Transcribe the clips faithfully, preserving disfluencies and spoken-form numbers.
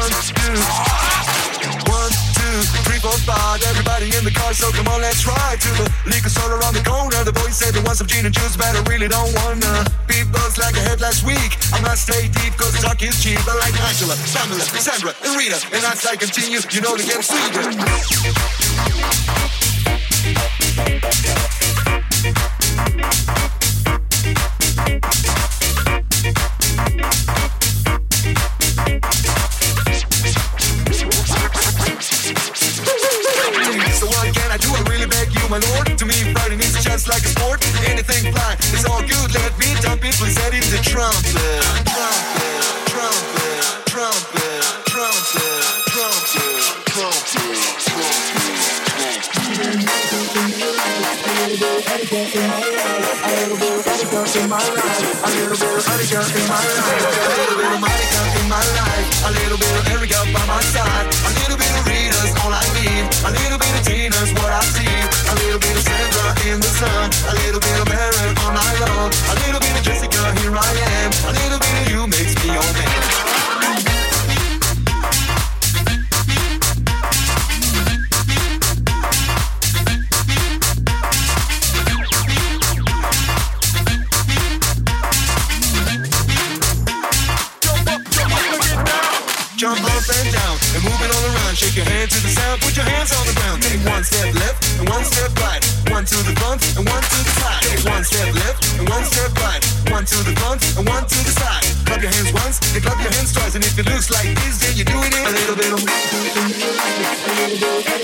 One, two. One, two, three, four, five. Everybody in the car, so come on, let's ride to the liquor store around the corner. The boys said they want some gin and juice, but I really don't wanna be buzzed like I had last week. I must stay deep, cause the talk is cheap. I like Angela, Pamela, Sandra, and Rita. And as I continue, you know they get sweeter. So what can I do? I really beg you, my lord. To me, Friday is just like a sport. Anything fly, it's all good. Let me dump it, please set it the trumpet. Trumpet, trumpet, trumpet, trumpet, trumpet, trumpet, A little bit of Monica in my life. A little bit of Monica in my life. A little bit of Monica in my life. A little bit of Erica by my side. A little bit of Rita's all I need. A little bit of Tina's what I see. A little bit of Sandra in the sun. A little bit of Mary all night long. A little bit of Jessica, here I am. A little bit of you makes me your man. Jump up and down and move it all around. Shake your hand to the sound, put your hands on the ground. Take one step left and one step right. One to the front and one to the side. Take one step left and one step right. One to the front and one to the side. Clap your hands once and clap your hands twice. And if it looks like this, then you're doing it a little bit of a little bit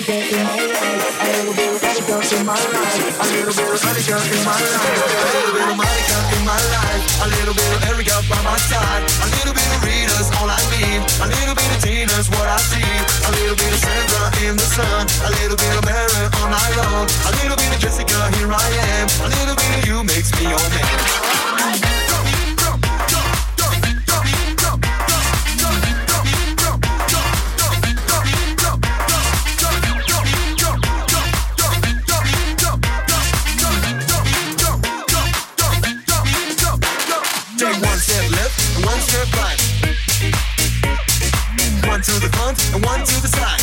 of Monica in my life. A little bit of Monica in my life. A little bit of Monica in my life. A little bit of Erica by my side. A little bit of Rita's all I need. A little bit of Tina's what I see. A little bit of Sandra in the sun. A little bit of Mary all night long. A little bit of Jessica, here I am. A little bit of you makes me your man. Take one step left and one step right. One to the front and one to the side.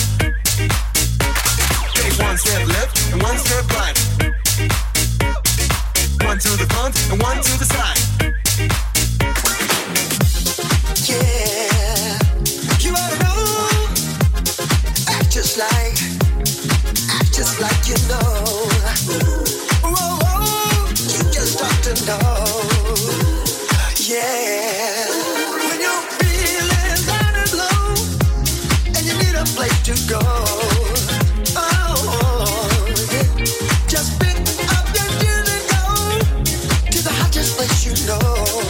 Take one step left and one step right. One to the front and one to the side. Yeah, you ought to know. Act just like, act just like you know. Whoa, whoa, you just ought to know. Yeah, when you're feeling down and low and you need a place to go, oh, yeah. Just pick up your gear and go to the hottest place you know.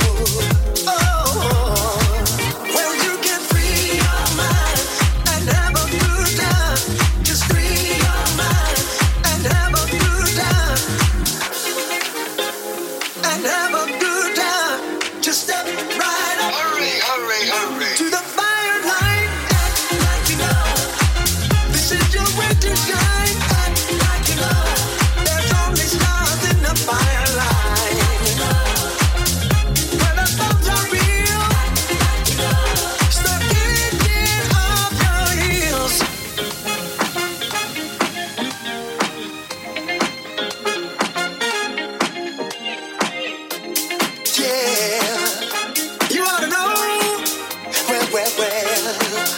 Oh, well, you can free your mind and have a good time. Just free your mind and have a good time. And have a good time. Just step right up. Hurry, hurry, hurry. To the fire line. Act like you know. This is your way to shine. Act like you know. There's only stars in the fire line. Where the bombs are real. Act like you know. Start kicking off your heels. Yeah. You ought to know, well, well, well.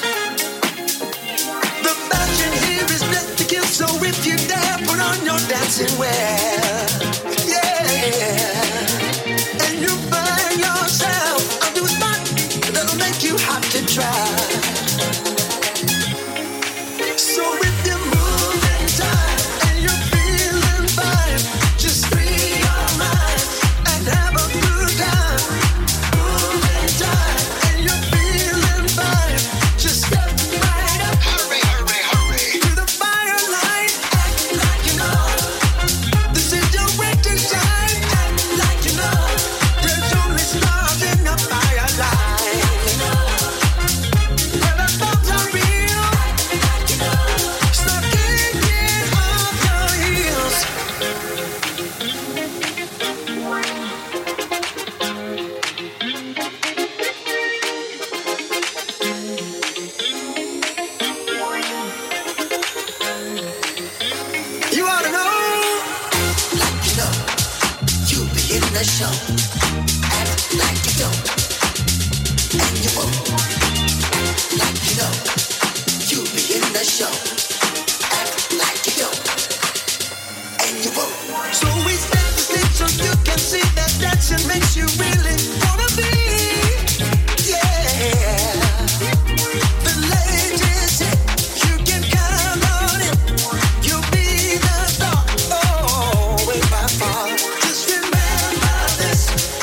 The fashion here is meant to kill, so if you dare, put on your dancing wear. Yeah. And you find yourself a new spot that'll make you hot to try. So if you're moving tight and you're feeling fine, just free your mind and have a good time. Moving tight and you're feeling fine, just step right up. Hurry, hurry, hurry. To the fire line, act like you know. This show. Act like you don't, and you won't. Act like you know. You'll be in the show. Act like you don't, and you won't. So we set the stage so you can see that dancing makes you really wanna be. Yeah. The ladies, you can count on it. You'll be the star. Oh, way by far. Just remember this.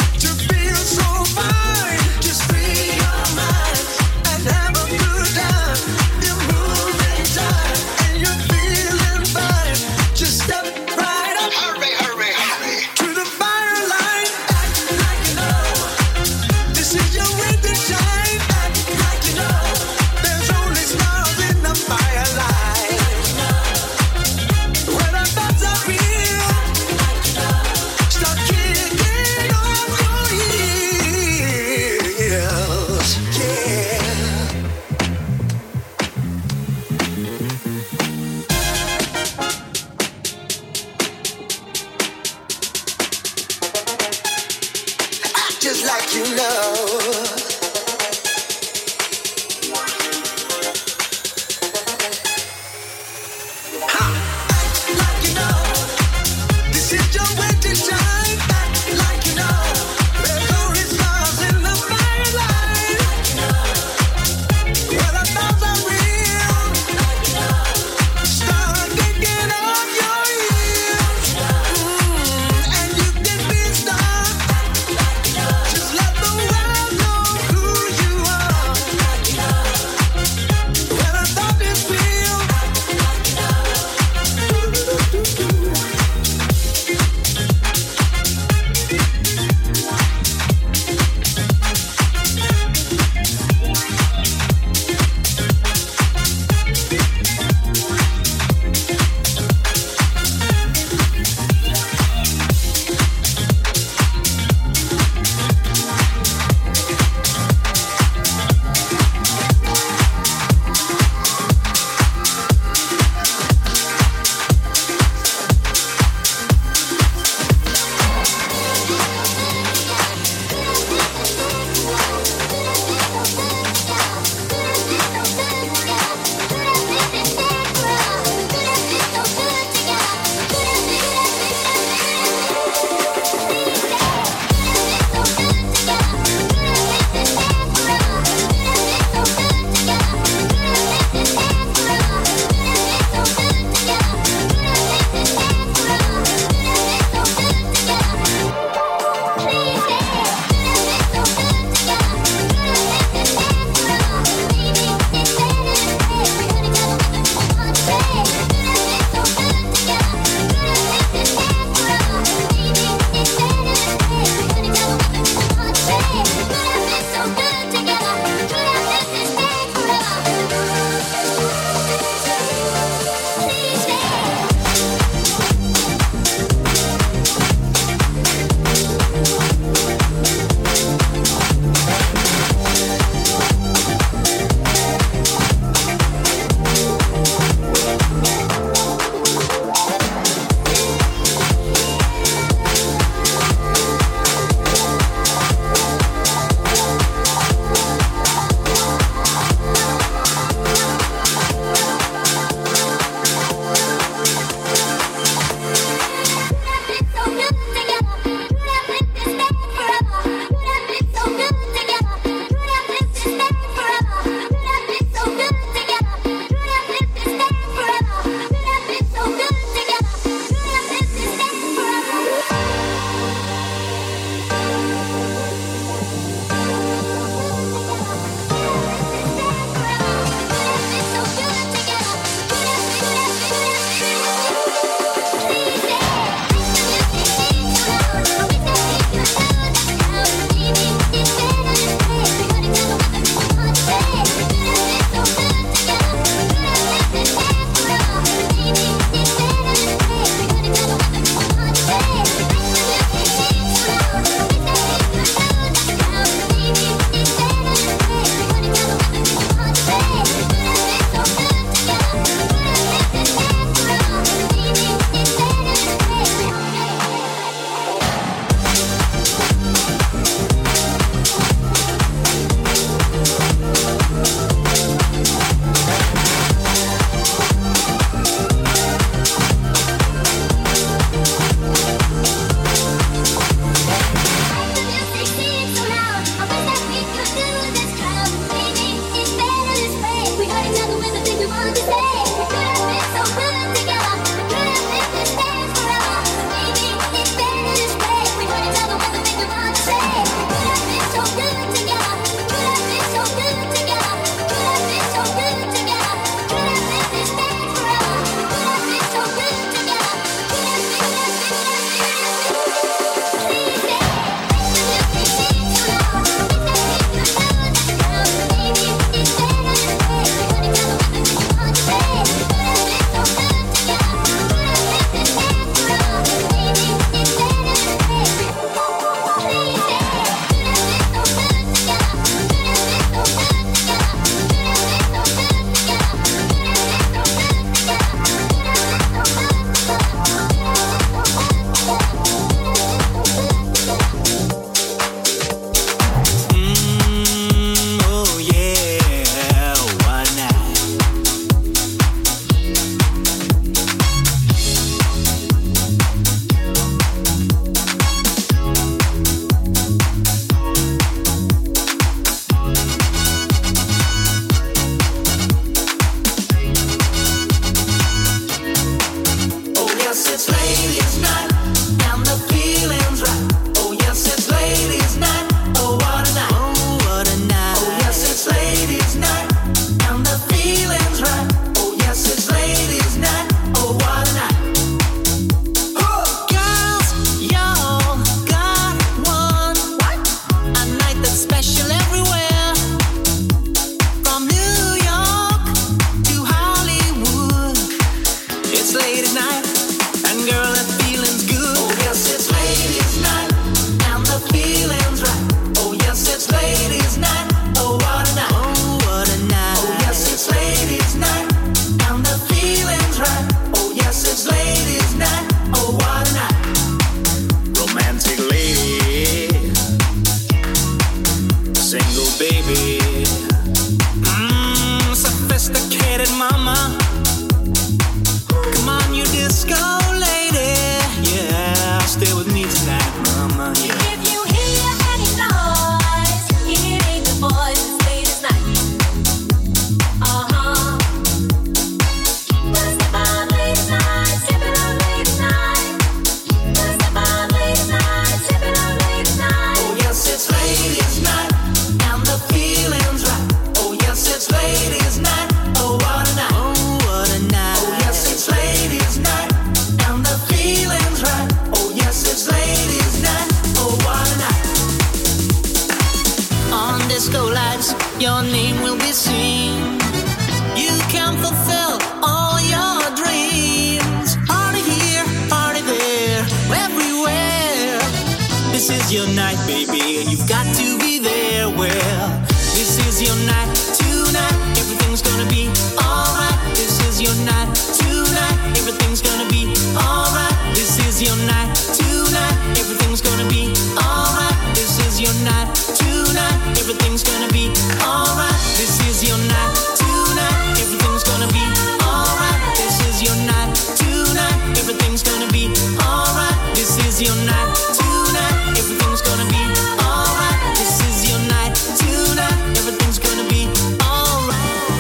it, mama. Come on, you disco lady. Yeah, stay with me tonight, mama. Yeah. If you hear any noise, it ain't the boys, it's late as night. Uh-huh. Let's step out late as night, step it out late as night. Let's step out late as night, step it out late as night. Oh yes, it's ladies' night, and the feeling's right. Oh yes, it's ladies' night. Oh what a night. Oh what a night. Oh yes, it's ladies' night, and the feeling's right. Oh yes, it's ladies' night. Oh what a night. On disco lights, your name will be seen. You can fulfill all your dreams. Party here, party there, everywhere. This is your night, baby, and you've got to be there. Well, this is your night tonight. Everything's gonna be alright. This is your night tonight. Everything's gonna be alright. This is your night tonight. Everything's gonna be alright. This is your night tonight. Everything's gonna be alright. This is your night tonight. Everything's gonna be alright. This is your night tonight. Everything's gonna be alright. This is your night tonight. Everything's gonna be alright. This is your night tonight. Everything's gonna be alright.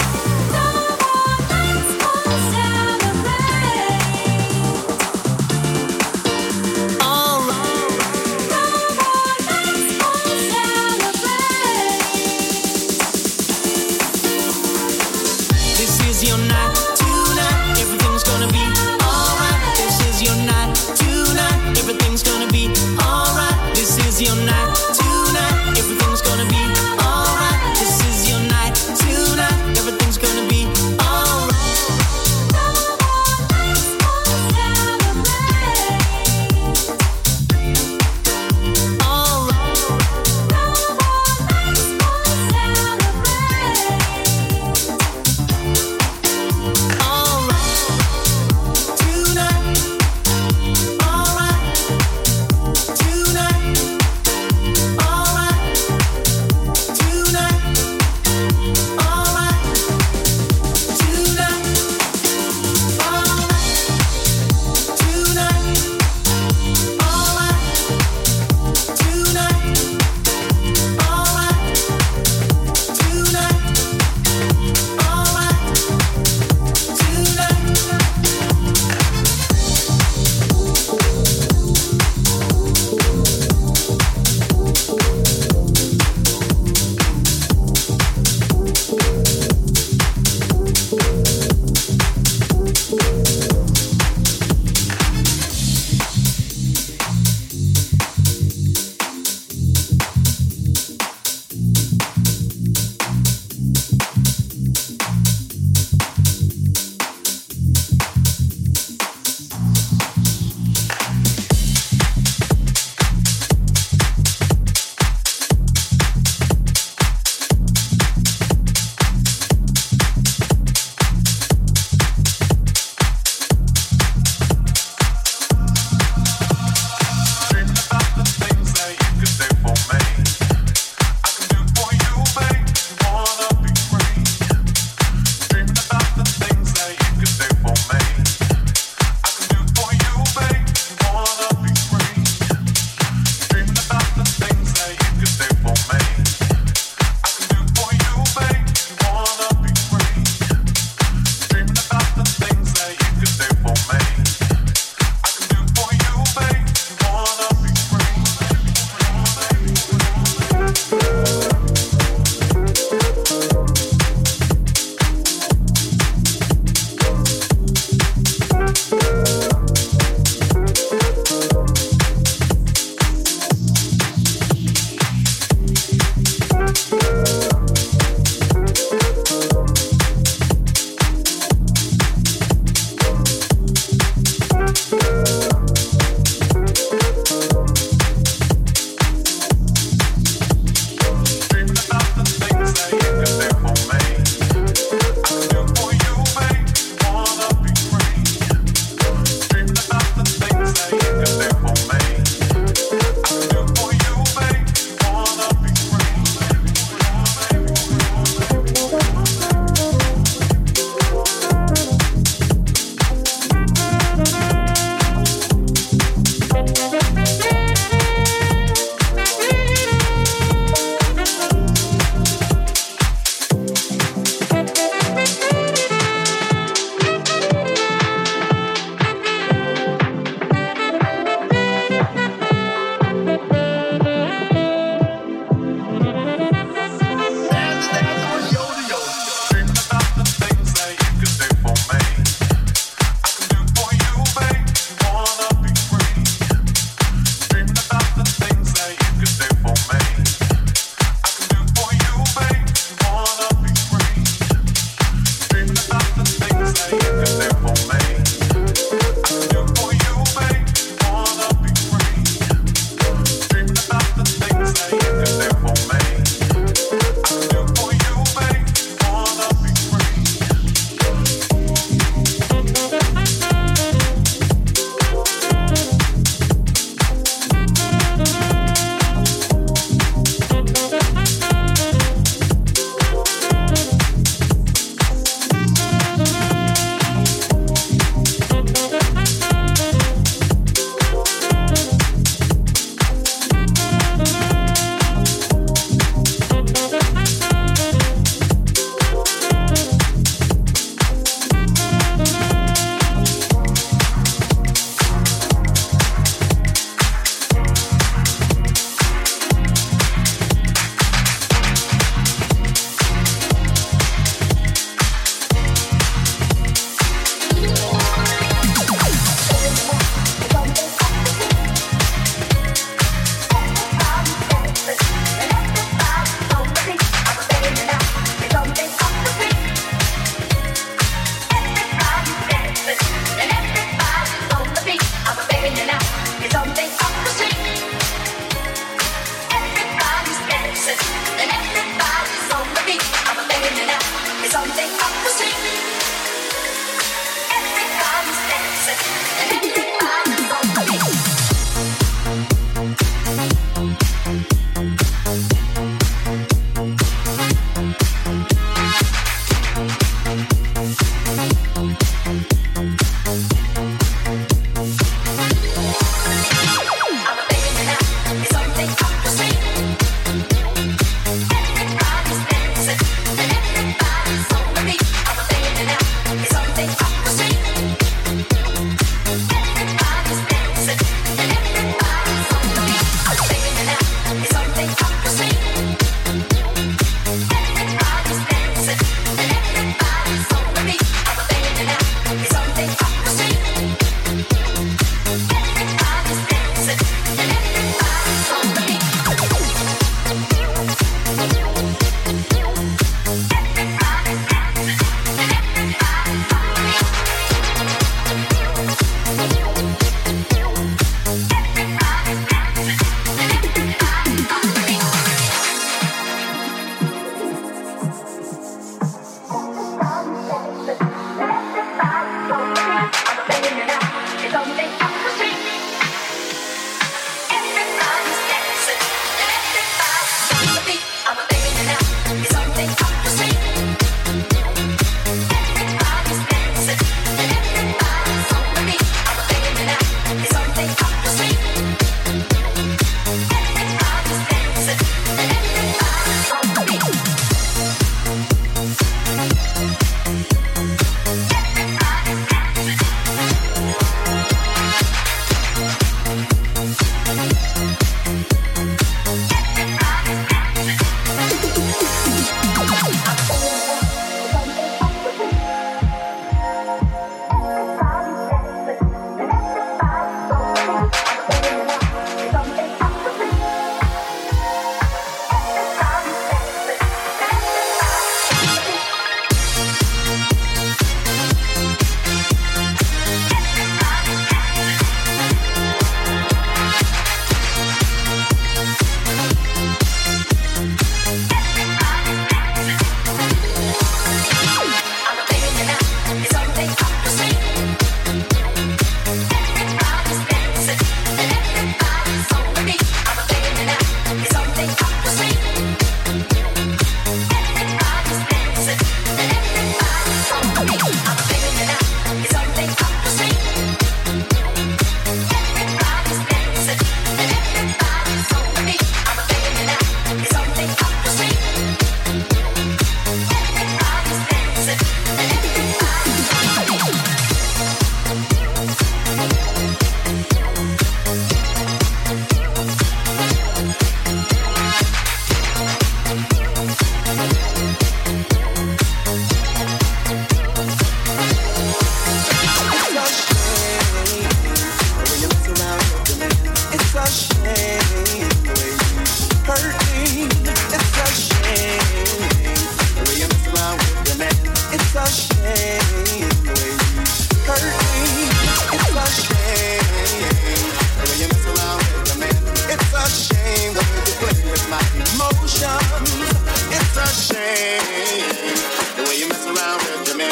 This is your night tonight. Everything's gonna be alright. This is your night tonight. Everything's gonna be alright. This is your night tonight. Everything's gonna be alright. This is your night tonight. Everything's gonna be alright. Alright.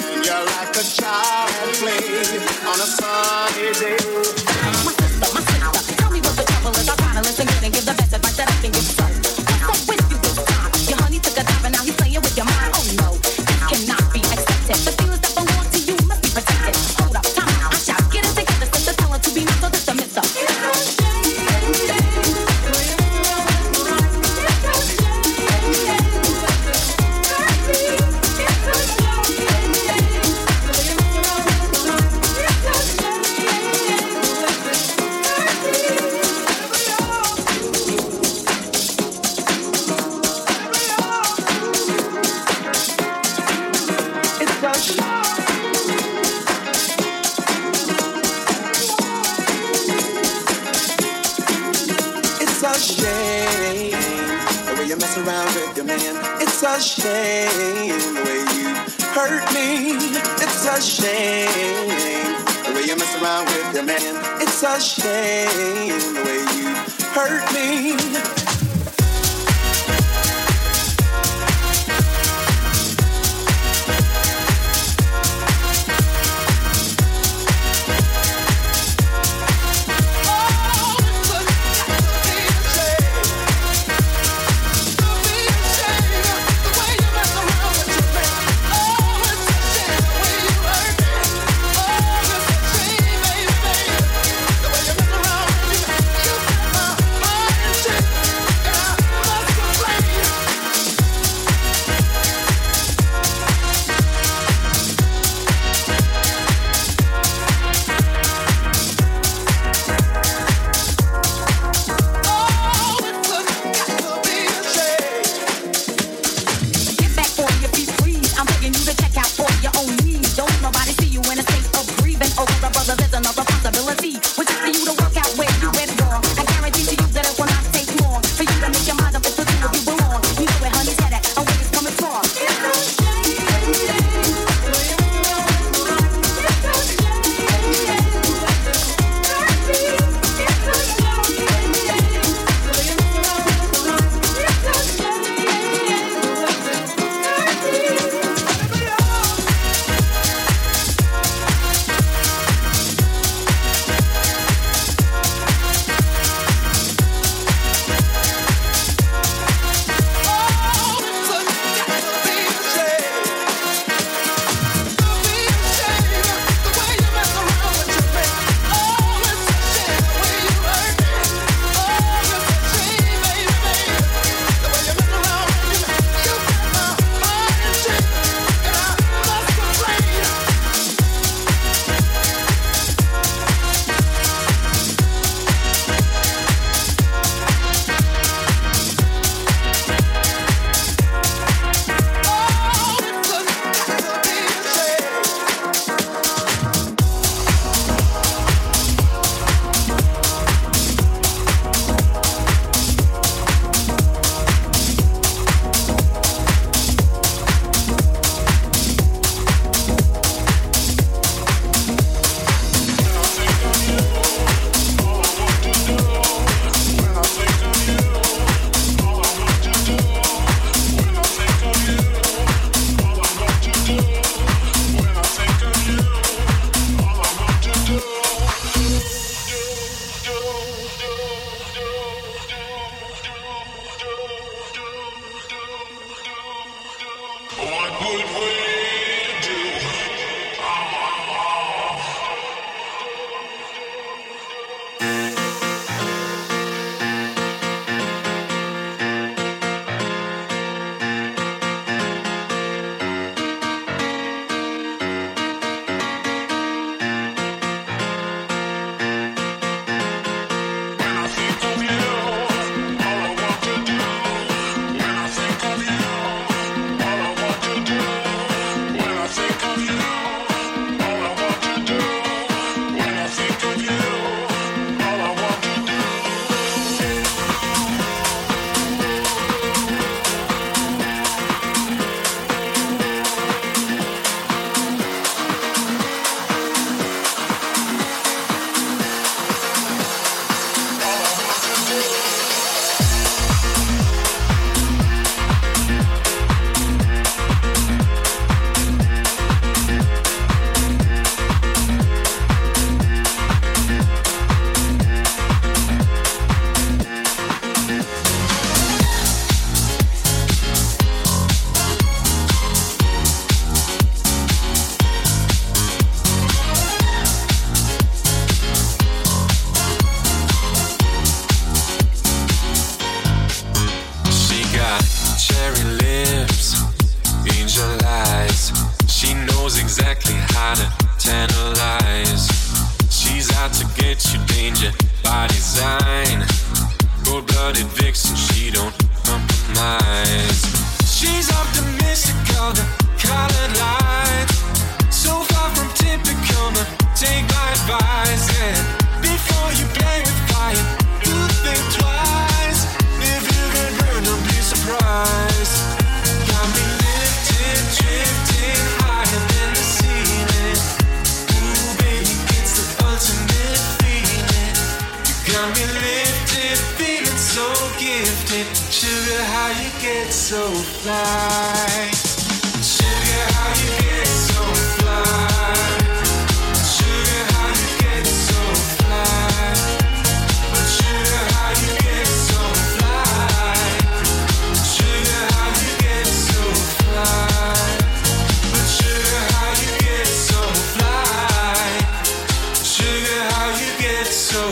You're like a child at play on a sunny day. My sister, my sister, tell me what the trouble is. I try to listen good and give the best advice that I can give. So, what's up with you this time? Your honey took a dive and now he's playing with your mind. Oh no, this cannot be accepted. The feelings that belong to you must be protected. Hold up, time out, I shout, get it together, sister, tell her to be nice, so this the miss up. It's a shame the way you hurt me. It's a shame the way you mess around with your man. It's a shame the way you hurt me. Baby, knows exactly how to tantalize. She's out to get you, danger by design. Cold-blooded vixen, she don't compromise. She's optimistic, called the colored light. So far from typical, no, take my advice, yeah. Before you play with fire, you think twice. If you get burned, don't be surprised. Got me lifted, drifting higher than the ceiling. Ooh, baby, it's the ultimate feeling. You got me lifted, feeling so gifted. Sugar, how you get so fly? Sugar, how you get so fly? Sugar, how you get so fly? But sugar, how you get so fly? Sugar, how you get so fly? But sugar, how you get so fly? Sugar, how you get so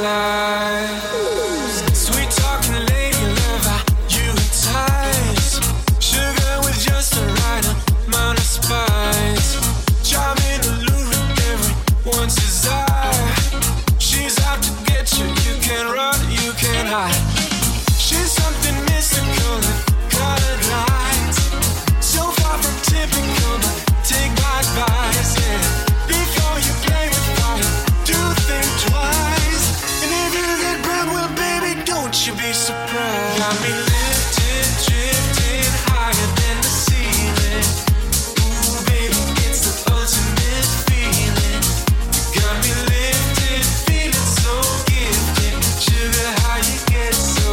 fly? Sweet talking lady, love how you entice. Sugar with just the right amount of spice. Charming, alluring, everyone's desire. She's out to get you, you can't run, you can't hide. She's something mystical and colored lights. So far from typical, but take my advice, yeah. Before you play with fire, do think twice. And if you get burned, well, baby, don't you be surprised. Got me lifted, drifting higher than the ceiling. Ooh, baby, it's the ultimate feeling. You got me lifted, feeling so gifted. Sugar, how you get so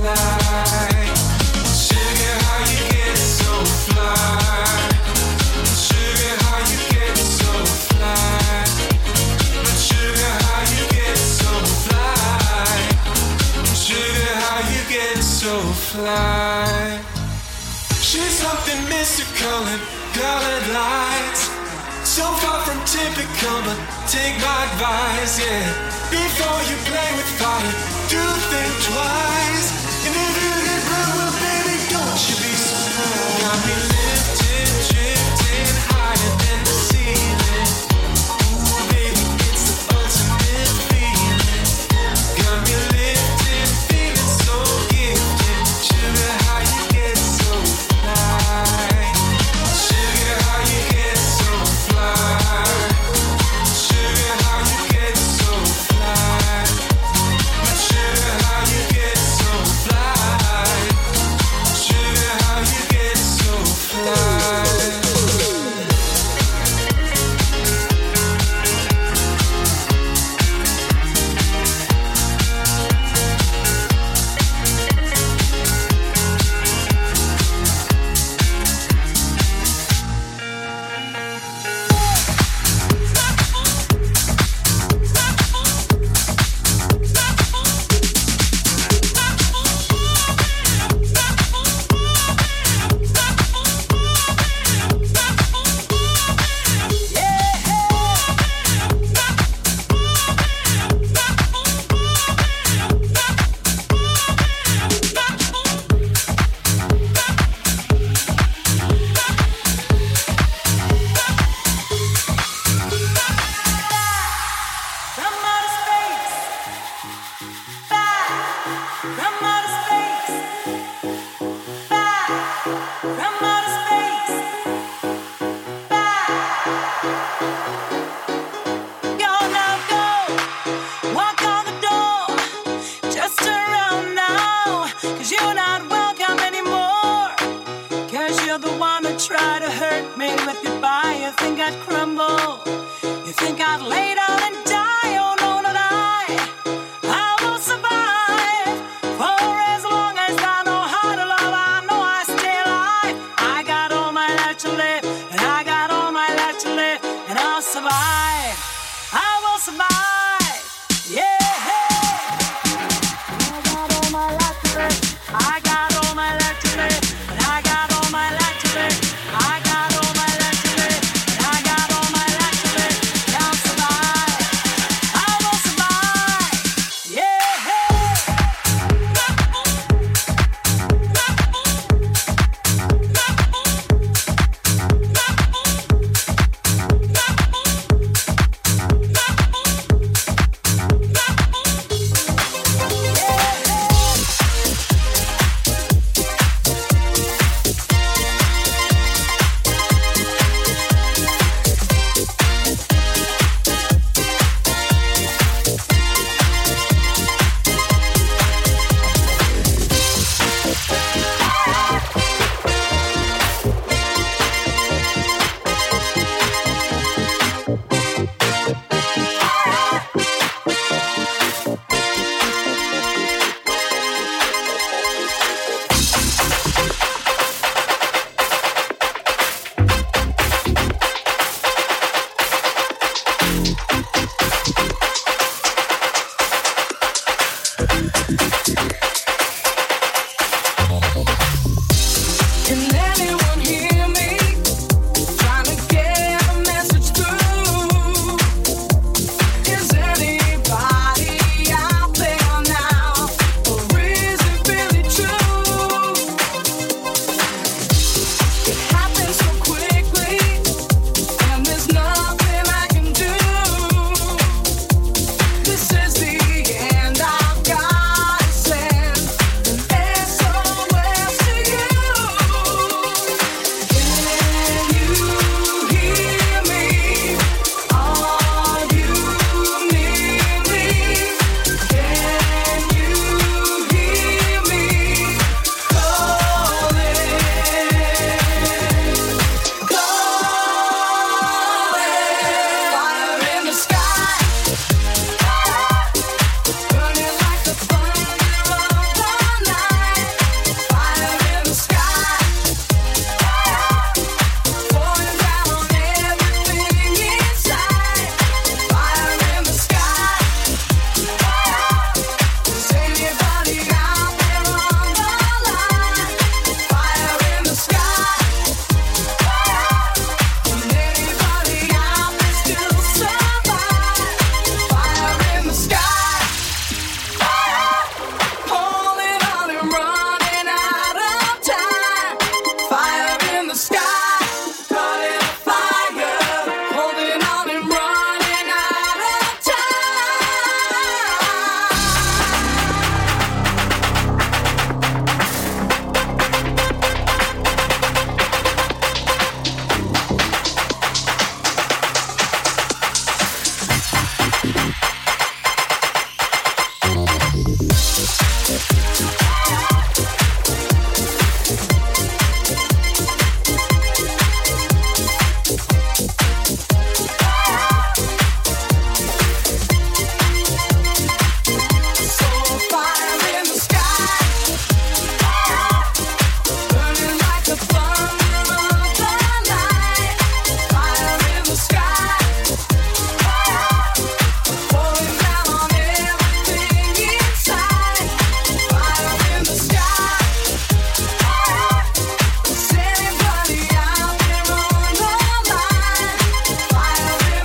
fly? Sugar, how you get so fly? Sugar, how you get so fly? But sugar, how you get so fly? Sugar, how you get so fly? She's something mystical and colored lights. So far from typical, but take my advice, yeah. Before you play with fire, do think twice. And if you get burned, well, baby, don't you be surprised. Got me lifted, drifting higher than the ceiling. Ooh, baby, it's the ultimate feeling. Got me lifted, feeling so gifted. Sugar, how you get so fly? Sugar, how you get so fly? Sugar, how you get so fly? But sugar, how you get so fly? Sugar, how you get so fly? From outer space, back. From outer space, back. From outer space, back. Go now, go. Walk on the door. Just turn around now, 'cause you're not welcome anymore. 'Cause you're the one that tried to hurt me with goodbye. You think I'd crumble. You think I'd lay down and die. Oh no, not I. I will survive for as long as I know how to love. I know I stay alive. I got all my life to live, and I got all my life to live, and I'll survive. I will survive. Yeah. I got all my life to live. I got all my life to live, and I got all my life to live. I got all my life to live, and I got all my life to live. And I'll survive. I will survive. Yeah. Anybody out there on the line? Fire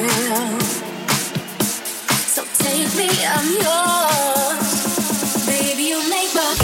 myself. So take me, I'm yours. Baby, you make my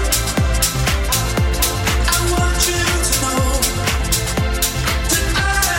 I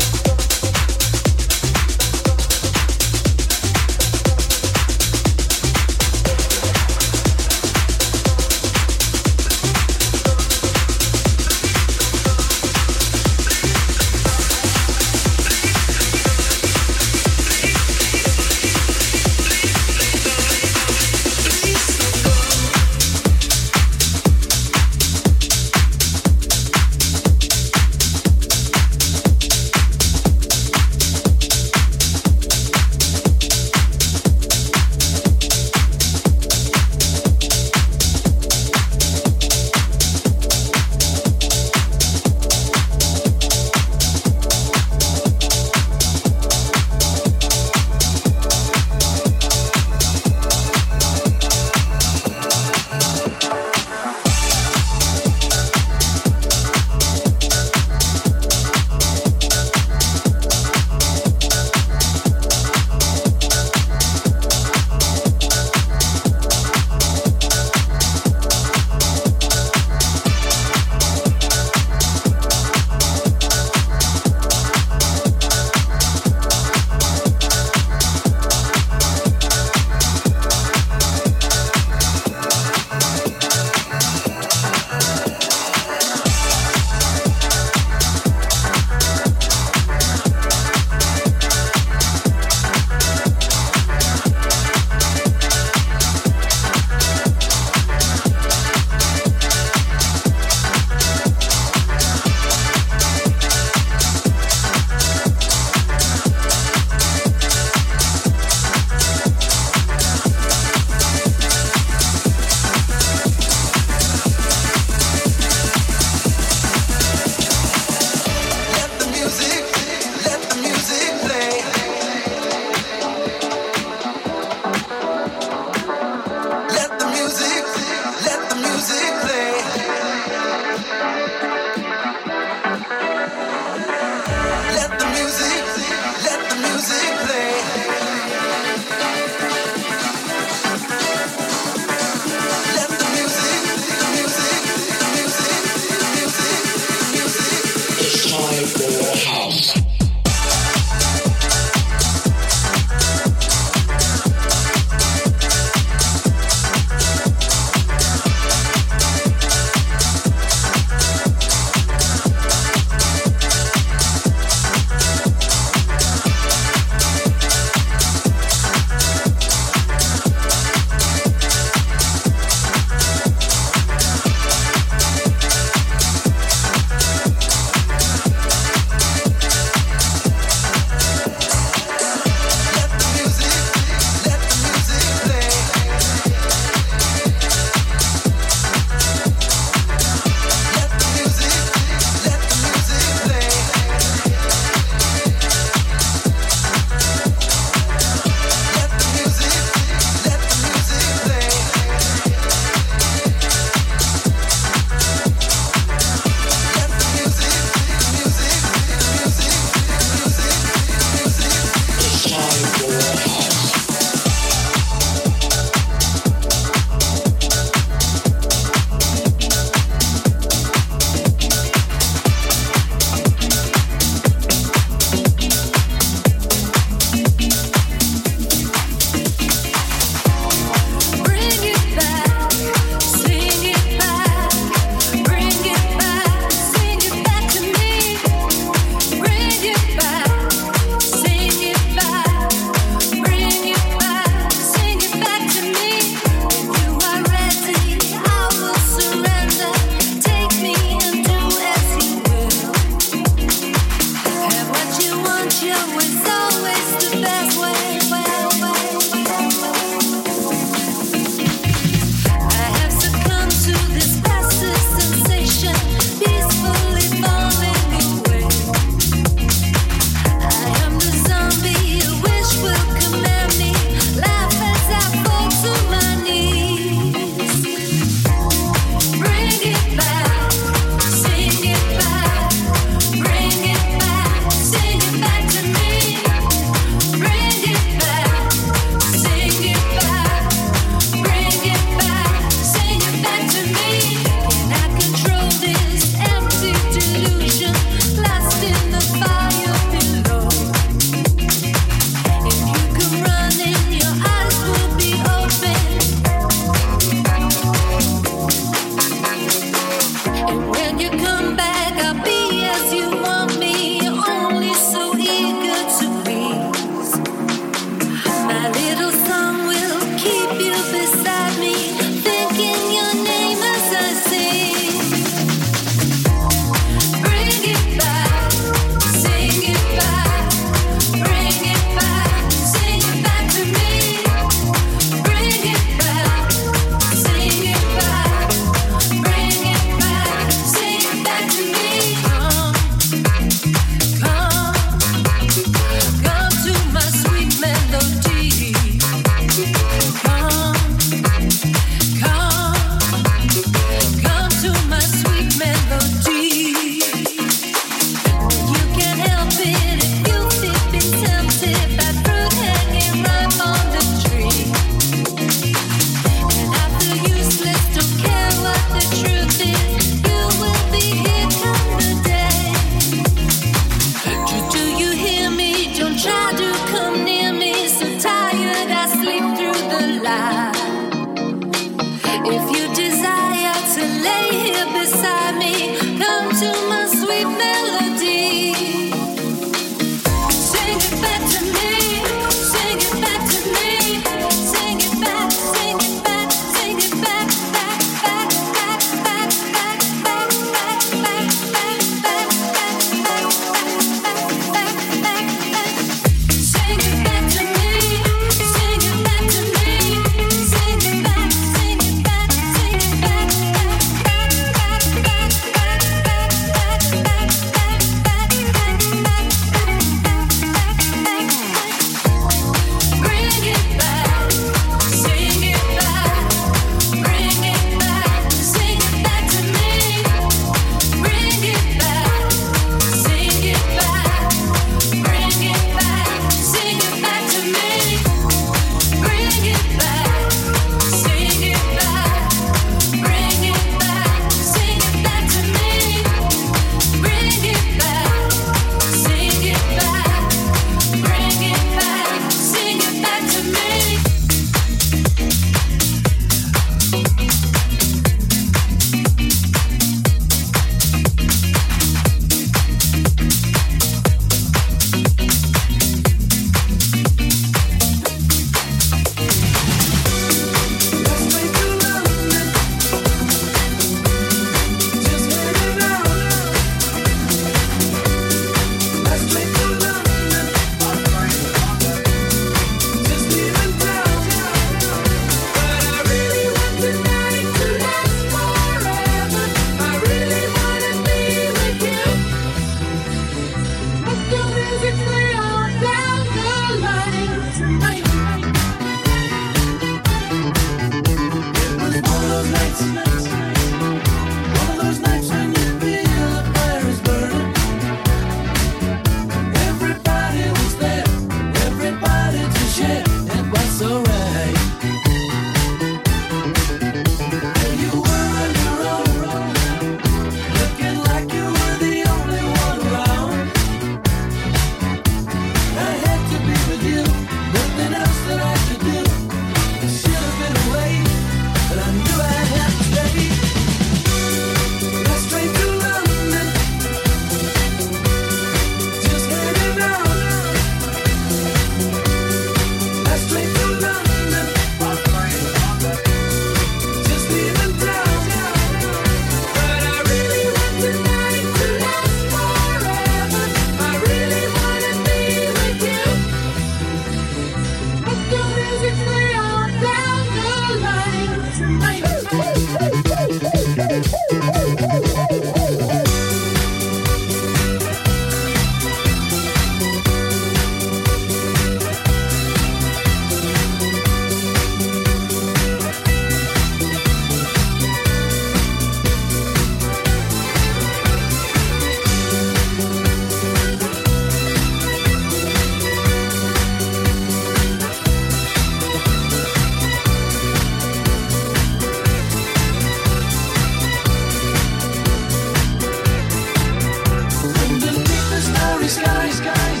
starry skies.